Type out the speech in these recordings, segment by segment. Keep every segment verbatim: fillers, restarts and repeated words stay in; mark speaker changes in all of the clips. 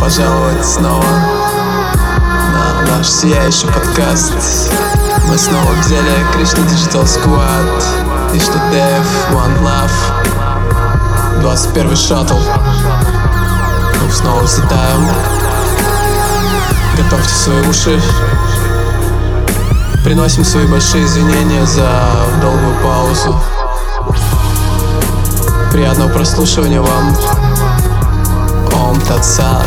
Speaker 1: пожаловать снова на наш сияющий подкаст. Мы снова взяли Krishna Digital Squad, Krishna Dev, One Love, двадцать первый шаттл. Мы снова взлетаем. Готовьте свои уши. Приносим свои большие извинения за долгую паузу. Приятного прослушивания вам. Ом Тат Сат.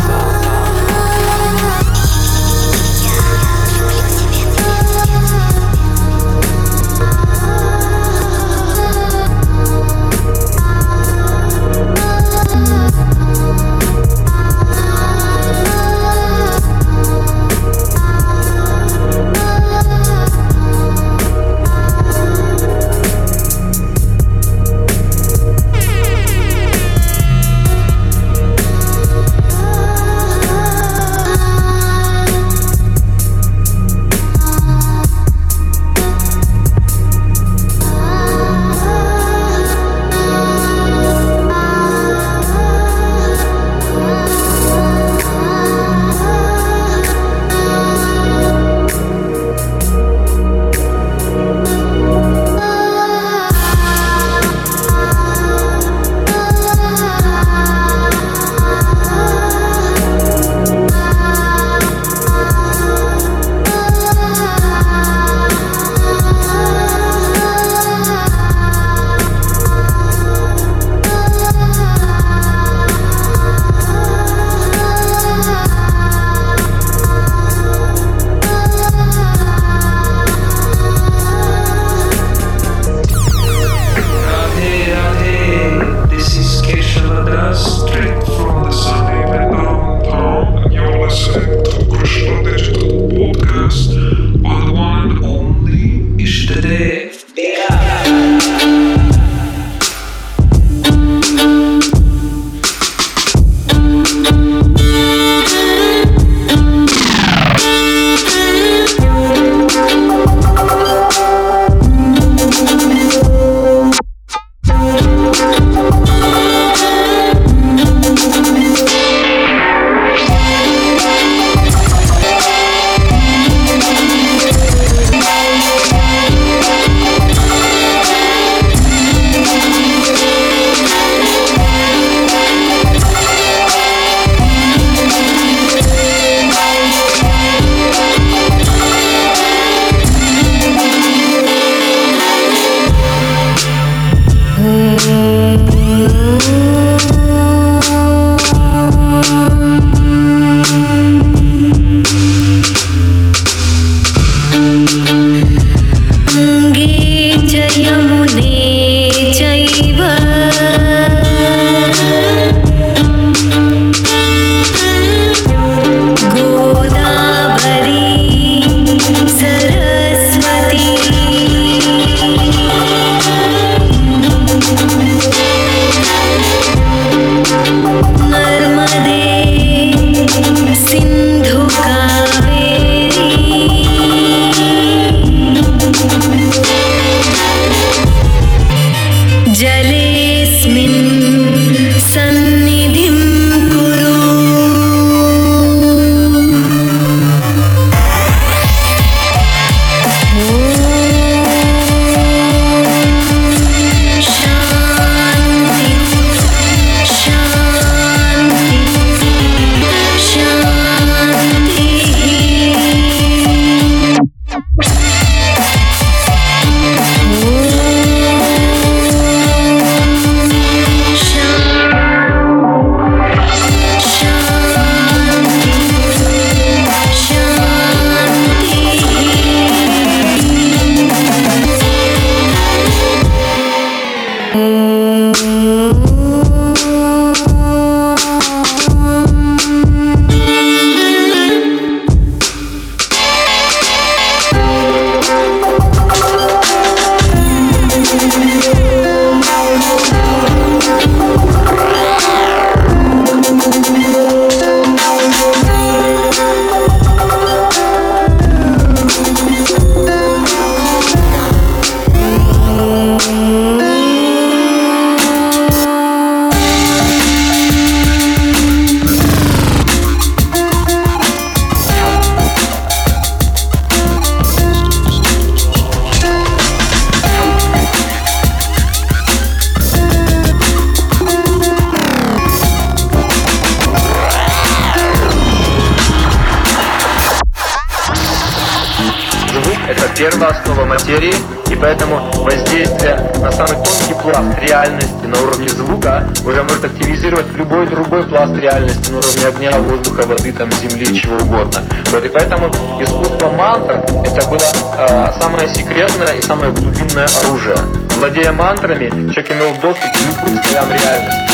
Speaker 2: первая основа материи, и поэтому воздействие на самый тонкий пласт реальности на уровне звука уже может активизировать любой другой пласт реальности на уровне огня, воздуха, воды, там, земли, чего угодно. Вот, и поэтому искусство мантр — это было э, самое секретное и самое глубинное оружие. Владея мантрами, человек имел доступ к любым слоям реальности.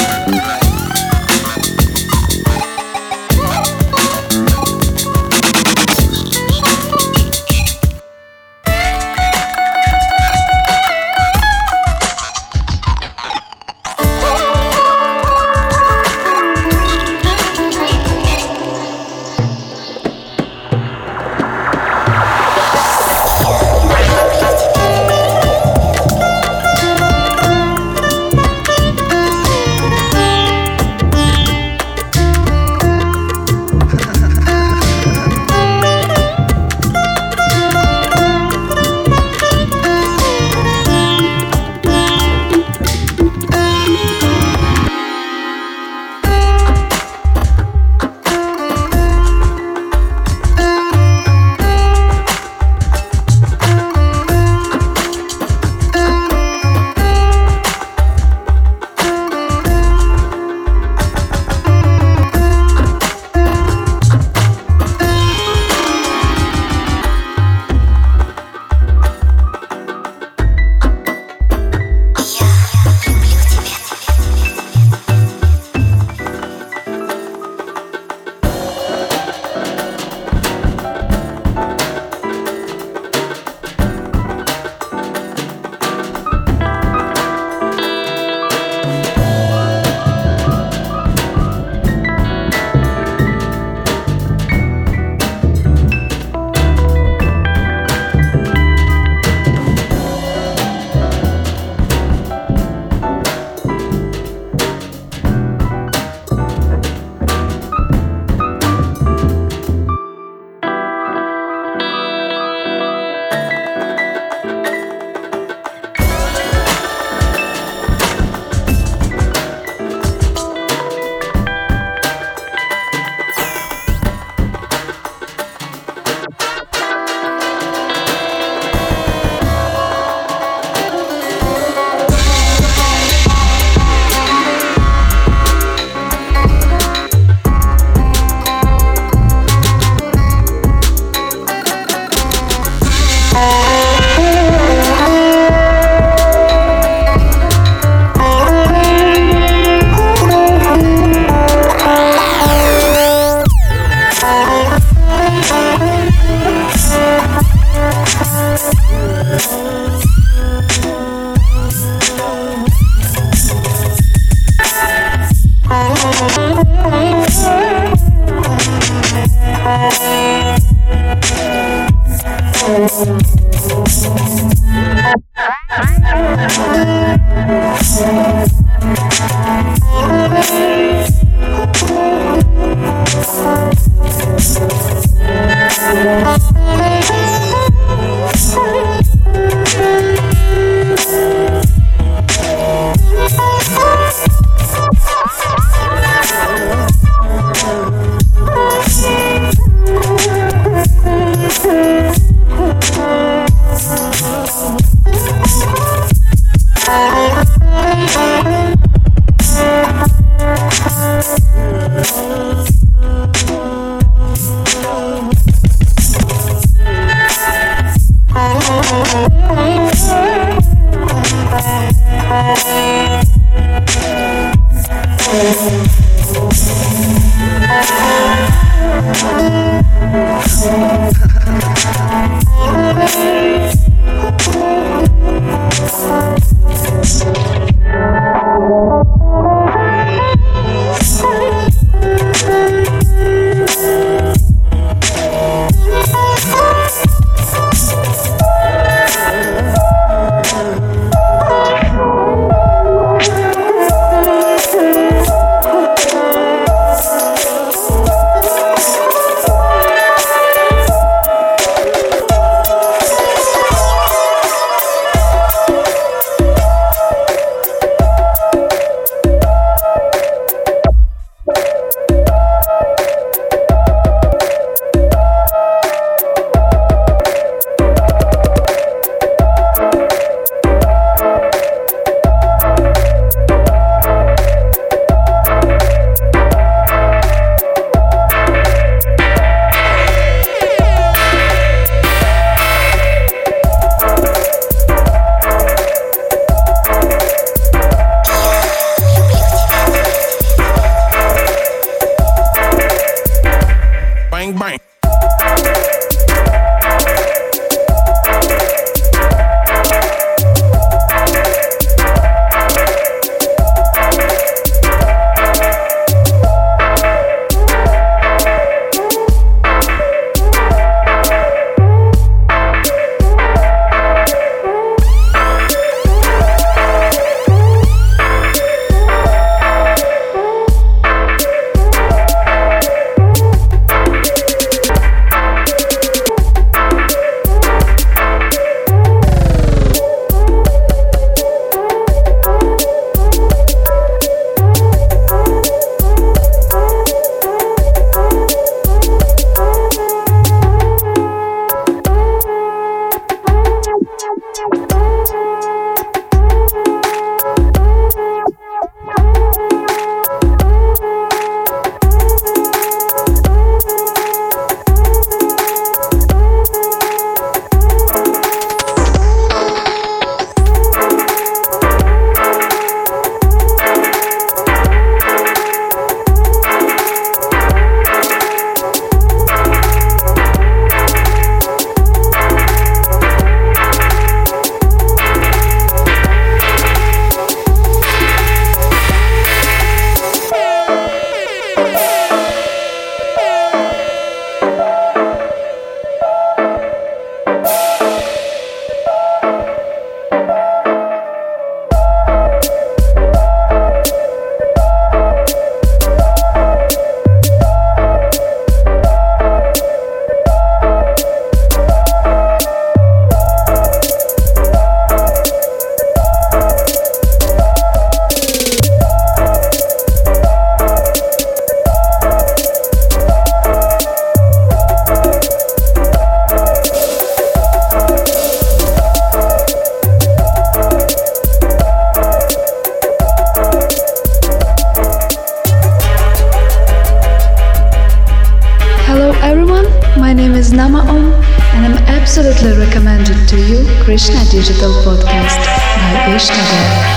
Speaker 3: welcome, and I'm absolutely recommended to you Krishna Digital Podcast by Ishnagar.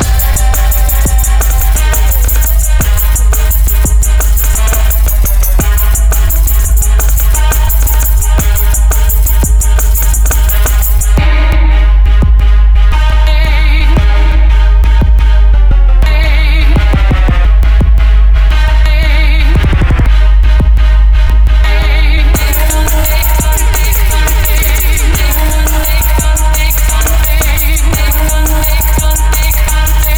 Speaker 4: Take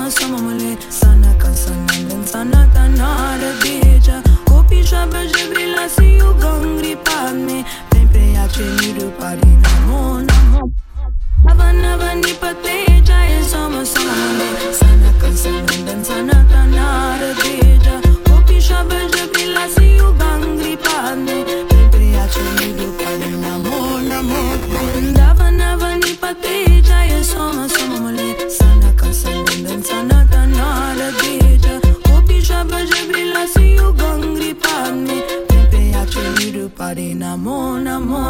Speaker 4: sama mule sana kansanan sana tanara deja kopi shabe jebrila si you gangri padme sempre ace niru parina mo namo avana vani pate jay sama sama mule sana kansanan sana tanara deja kopi shabe jebrila si you gangri padme sempre ace niru parina mo namo avana vani pate jay sama sama mule sana kansanan sana tanara deja kopi shabe jebrila si you gangri padme sempre ace niru parina mo namo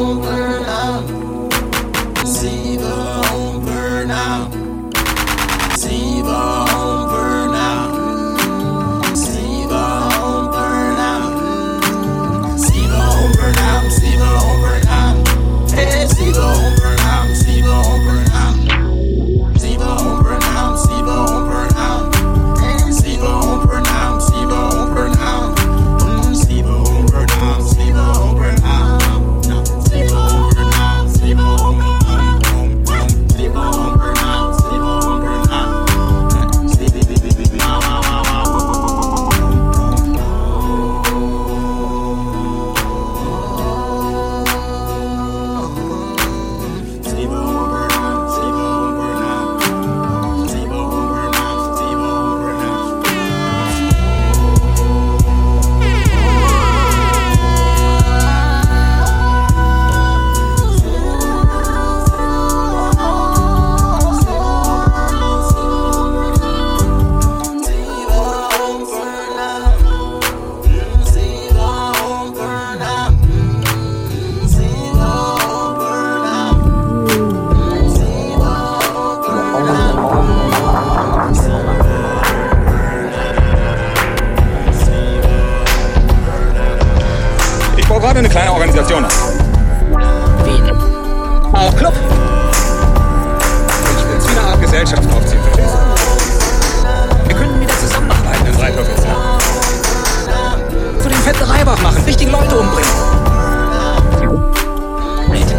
Speaker 5: gerade eine kleine Organisation hast.
Speaker 6: Wen?
Speaker 5: Auch Club. Ich will es wie eine Art Gesellschaft aufziehen, verstehst du? Wir können wieder zusammenarbeiten in Reithof, ja? Für den fetten Reibach machen, richtige Leute umbringen.
Speaker 6: Wait.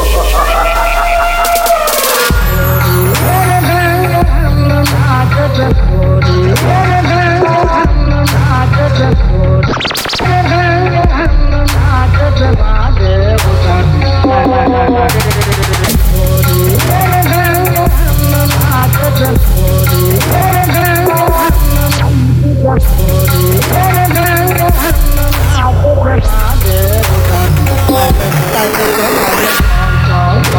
Speaker 6: Bye.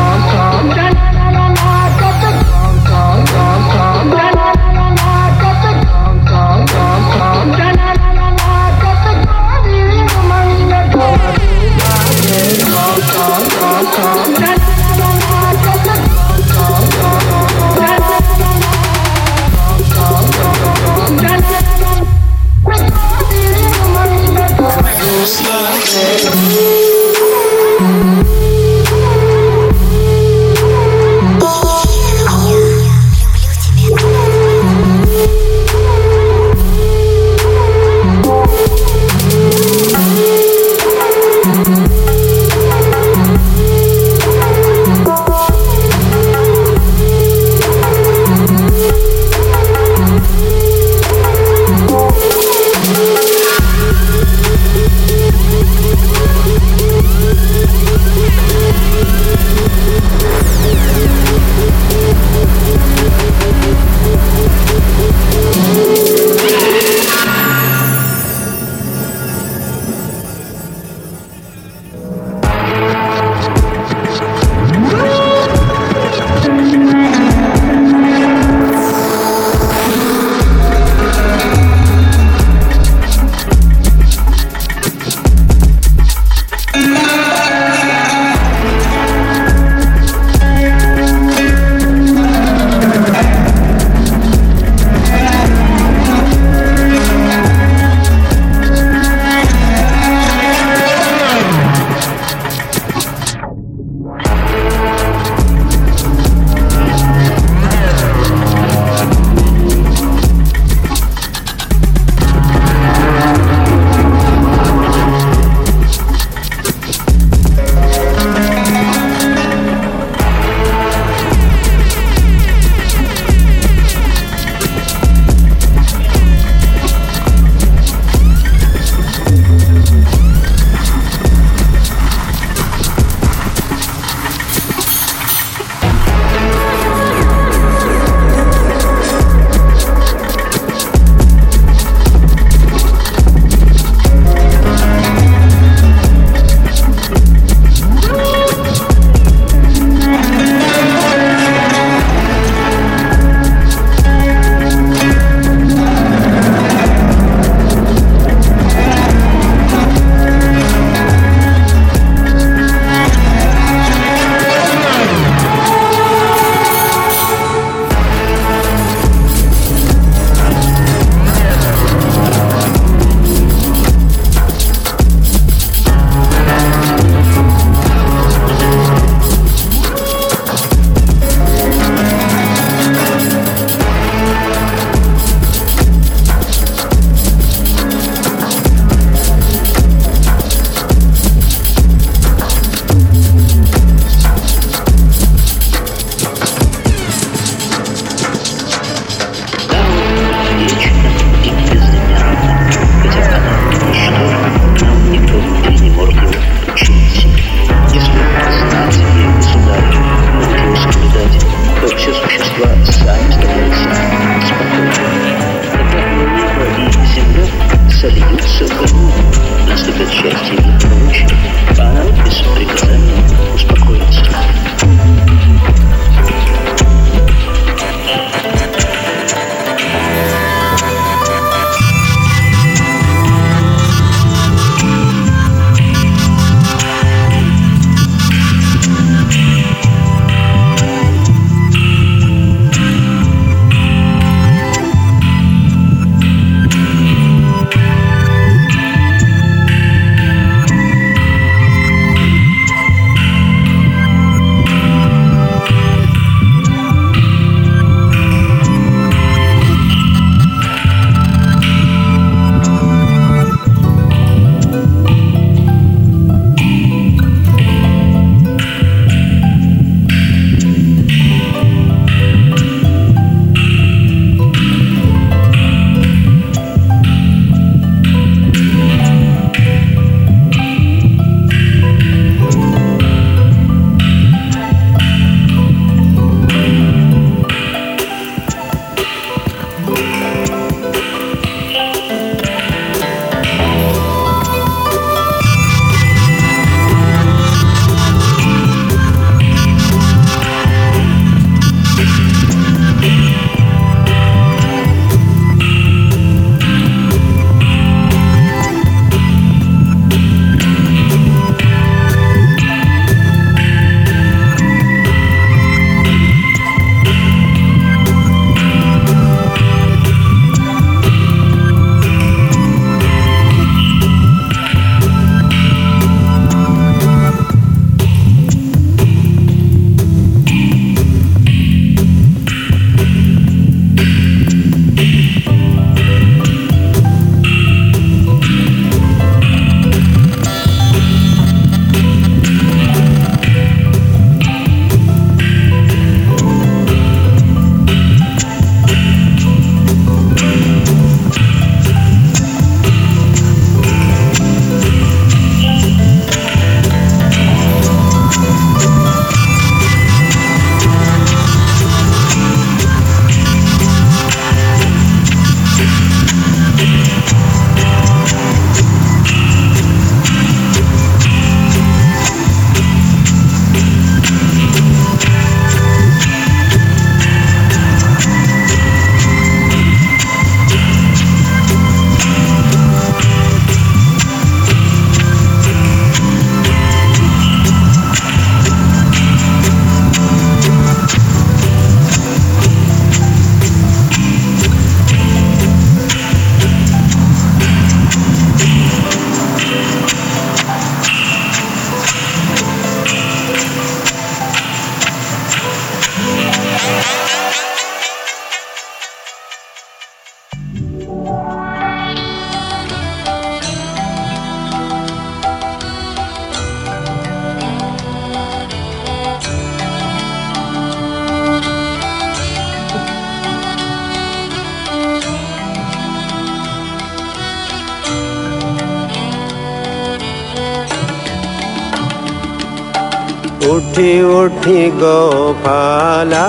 Speaker 6: उठी उठी गोपाला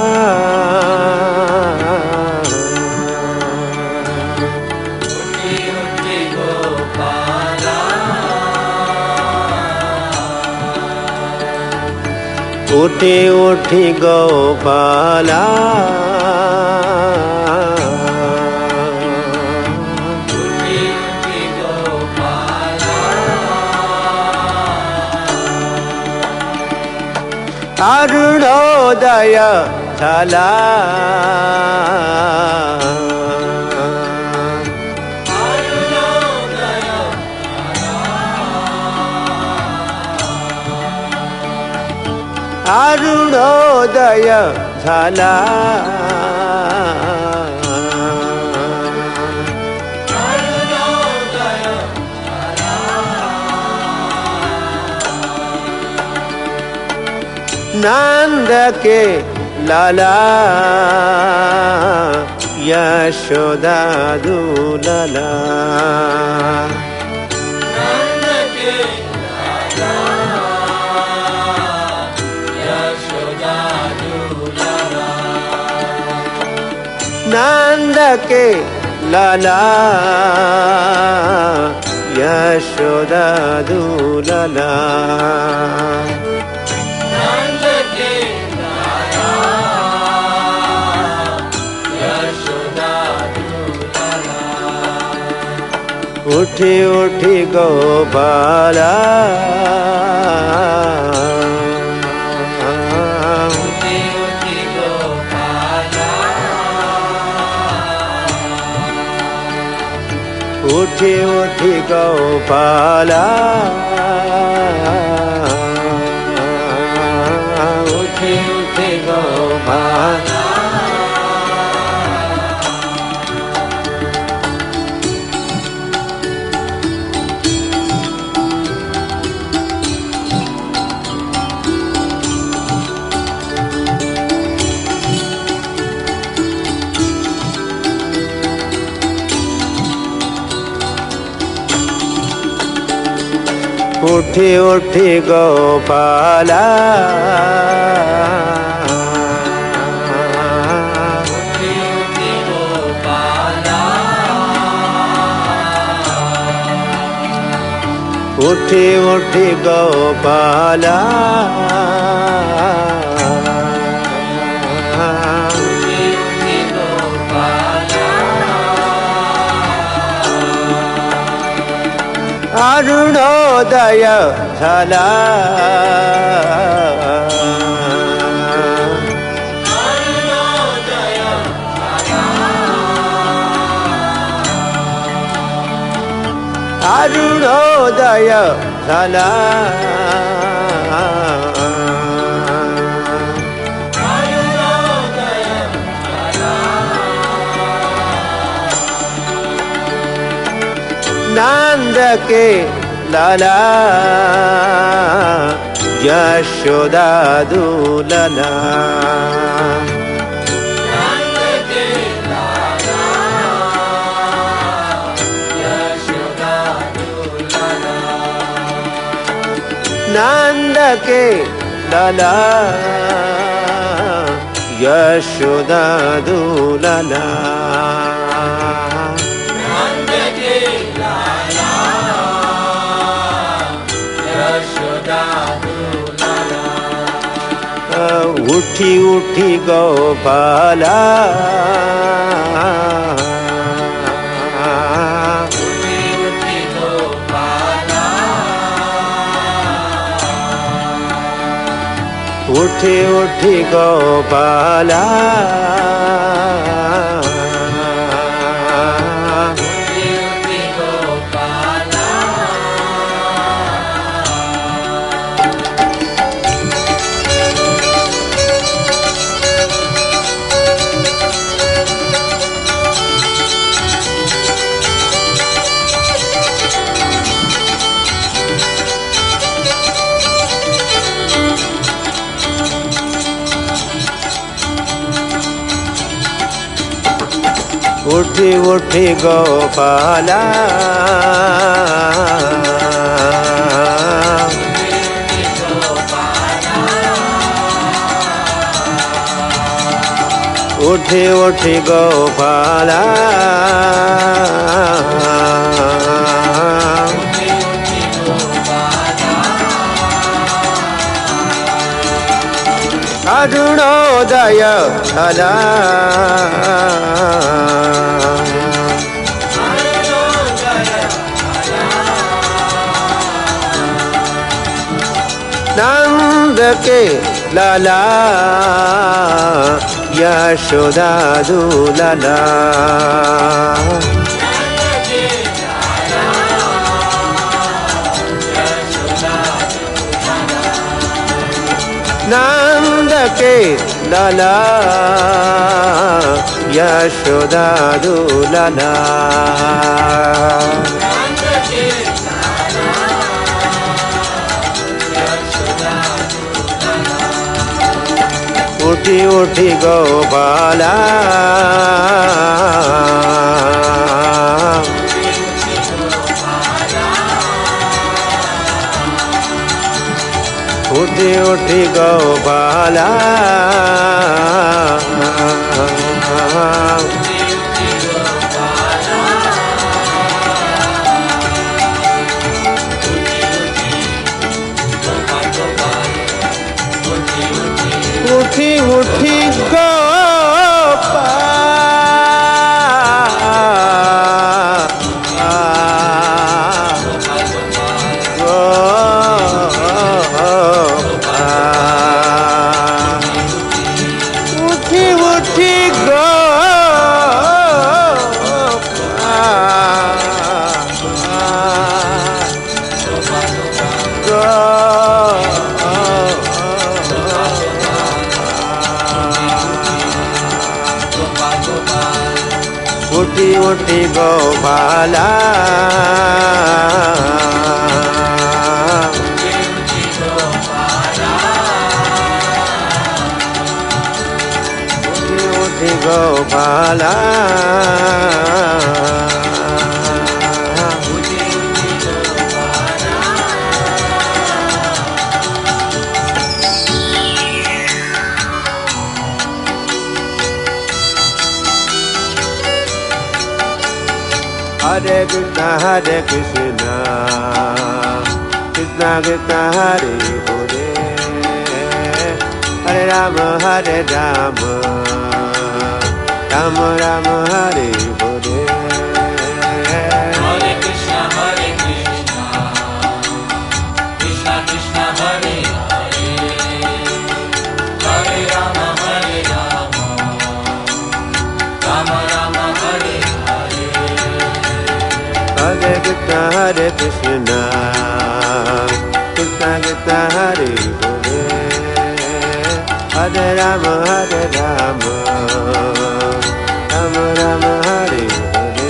Speaker 6: उठी उठी गोपाला अरुणोदय झाला अरुणोदय झाला नंद के लाला यशोदा दुलाला
Speaker 7: नंद के लाला यशोदा दुलाला
Speaker 6: नंद के लाला यशोदा दुलाला उठी उठी गोपाला
Speaker 7: उठी उठी गोपाला
Speaker 6: उठी उठी गोपाला उठी उठी गोपाला उठी उठी गोपाला
Speaker 7: उठी उठी गोपाला
Speaker 6: उठी उठी गोपाला
Speaker 7: उठी उठी गोपाला
Speaker 6: अरुणोदय झाला
Speaker 7: अरुणोदय
Speaker 6: अरुणोदय झाला नंद के लाला यशोदा दुलाला
Speaker 7: नंद के लाला यशोदा दुलाला
Speaker 6: नंद के लाला यशोदा दुलाला
Speaker 7: नंद के लाला यशोदा दुलाला
Speaker 6: उठी उठी गोपाला
Speaker 7: उठी उठी गोपाला
Speaker 6: उठी उठी गोपाला
Speaker 7: उठी उठी गोपाला
Speaker 6: उठी उठी गोपाला
Speaker 7: उठी उठी गोपाला
Speaker 6: उठी उठी गोपाला अरुणोदय हला नंद के लाला यशोदा दूलाला नंद के लाला यशोदा दूलाला उठी उठी गोपाला उठी उठी गोपाला उठी उठी उठी उठी उठी उठी गोपाला उठी उठी Gopala Hare Krishna, Hare Krishna, Krishna Krishna, Hare Hare, Hare Rama, Hare Rama, Rama Rama, Hare Hare.
Speaker 7: Hare Krishna, Hare Krishna, Krishna Krishna, Hare Hare, Hare Rama, Hare Rama, Rama Rama, Hare Hare.
Speaker 6: Hare Krishna, Hare Krishna, Krishna Krishna, Hare Hare, Hare Rama, Hare Rama, Rama Rama, Hare Hare.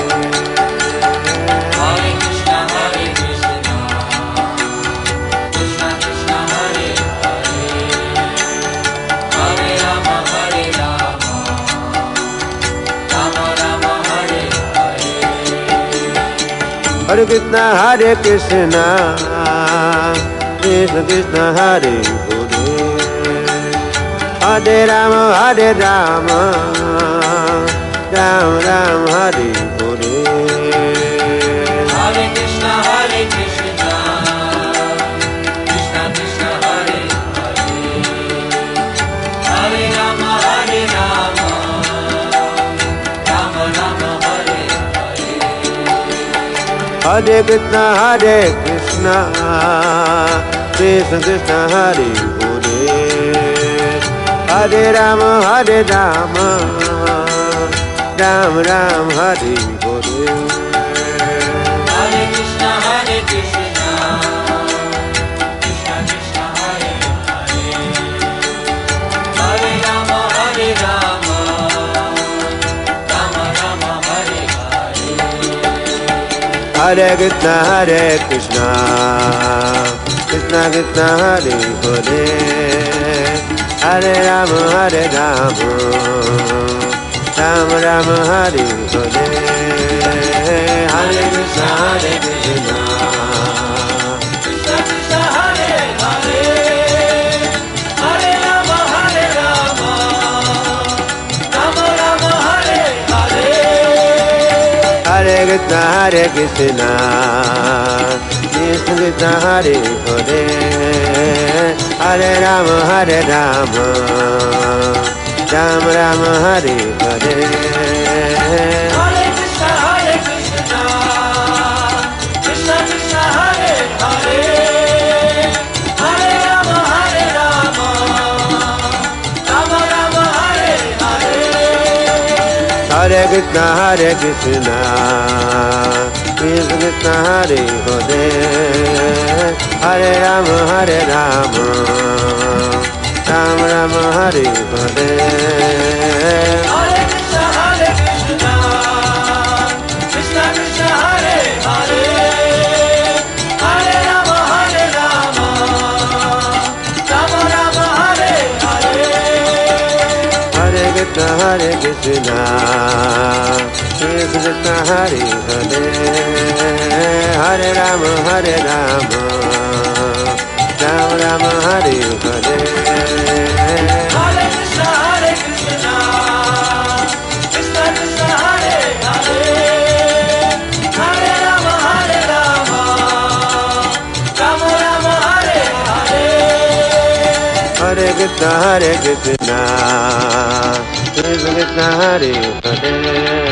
Speaker 7: Hare Krishna, Hare Krishna, Krishna Krishna, Hare Hare, Hare Rama, Hare Rama, Rama Rama, Hare Hare.
Speaker 6: Hare Krishna, Hare Krishna, Krishna Krishna, Hare Hare, Hare Rama, Hare Rama, Rama Rama, Hare Hare.
Speaker 7: Hare Krishna, Hare Krishna, Krishna Krishna, Hare Hare, Hare Rama, Hare Rama, Rama Rama, Hare Hare.
Speaker 6: Hare Krishna, Hare Krishna, Krishna Krishna, Hare Hare, Hare Rama, Hare Rama, Rama Rama, Hare Hare.
Speaker 7: Hare Krishna, Hare Krishna, Krishna Krishna, Hare Hare, Hare Rama, Hare Rama, Rama Rama, Hare Hare.
Speaker 6: Hare Krishna, Hare Krishna, Krishna Krishna, Hare Hare, Hare Rama, Hare Rama, Rama Rama, Hare Hare. Hare Krishna, Hare Krishna,
Speaker 7: Krishna Krishna, Hare Hare, Hare Rama, Hare Rama, Rama
Speaker 6: Krishna, Hare Krishna, Krishna Krishna, Hare Hare, Hare Rama, Hare Rama, Rama Rama, Hare Hare.
Speaker 7: Hare Krishna, Hare Krishna, Krishna Krishna, Hare Hare, Hare Rama, Hare Rama, Rama Rama, Hare Hare.
Speaker 6: Hare Krishna, Hare Krishna, Krishna Krishna, Hare Hare, Hare Rama, Hare Rama, Rama Rama, Hare Hare.
Speaker 7: Hare Krishna, Hare Krishna, Krishna Krishna, Hare Hare, Hare Rama, Hare Rama, Rama Rama, Hare Hare.
Speaker 6: Hare Krishna, Hare Krishna, Krishna Krishna, Hare Hare, Hare Rama, Hare Rama, Rama Rama, Hare Hare.
Speaker 7: Hare Krishna, Hare Krishna, Krishna Krishna, Hare Hare, Hare Rama, Hare Rama, Rama Rama, Hare Hare.
Speaker 6: Hare Krishna, Hare Krishna, Krishna Krishna, Hare Hare,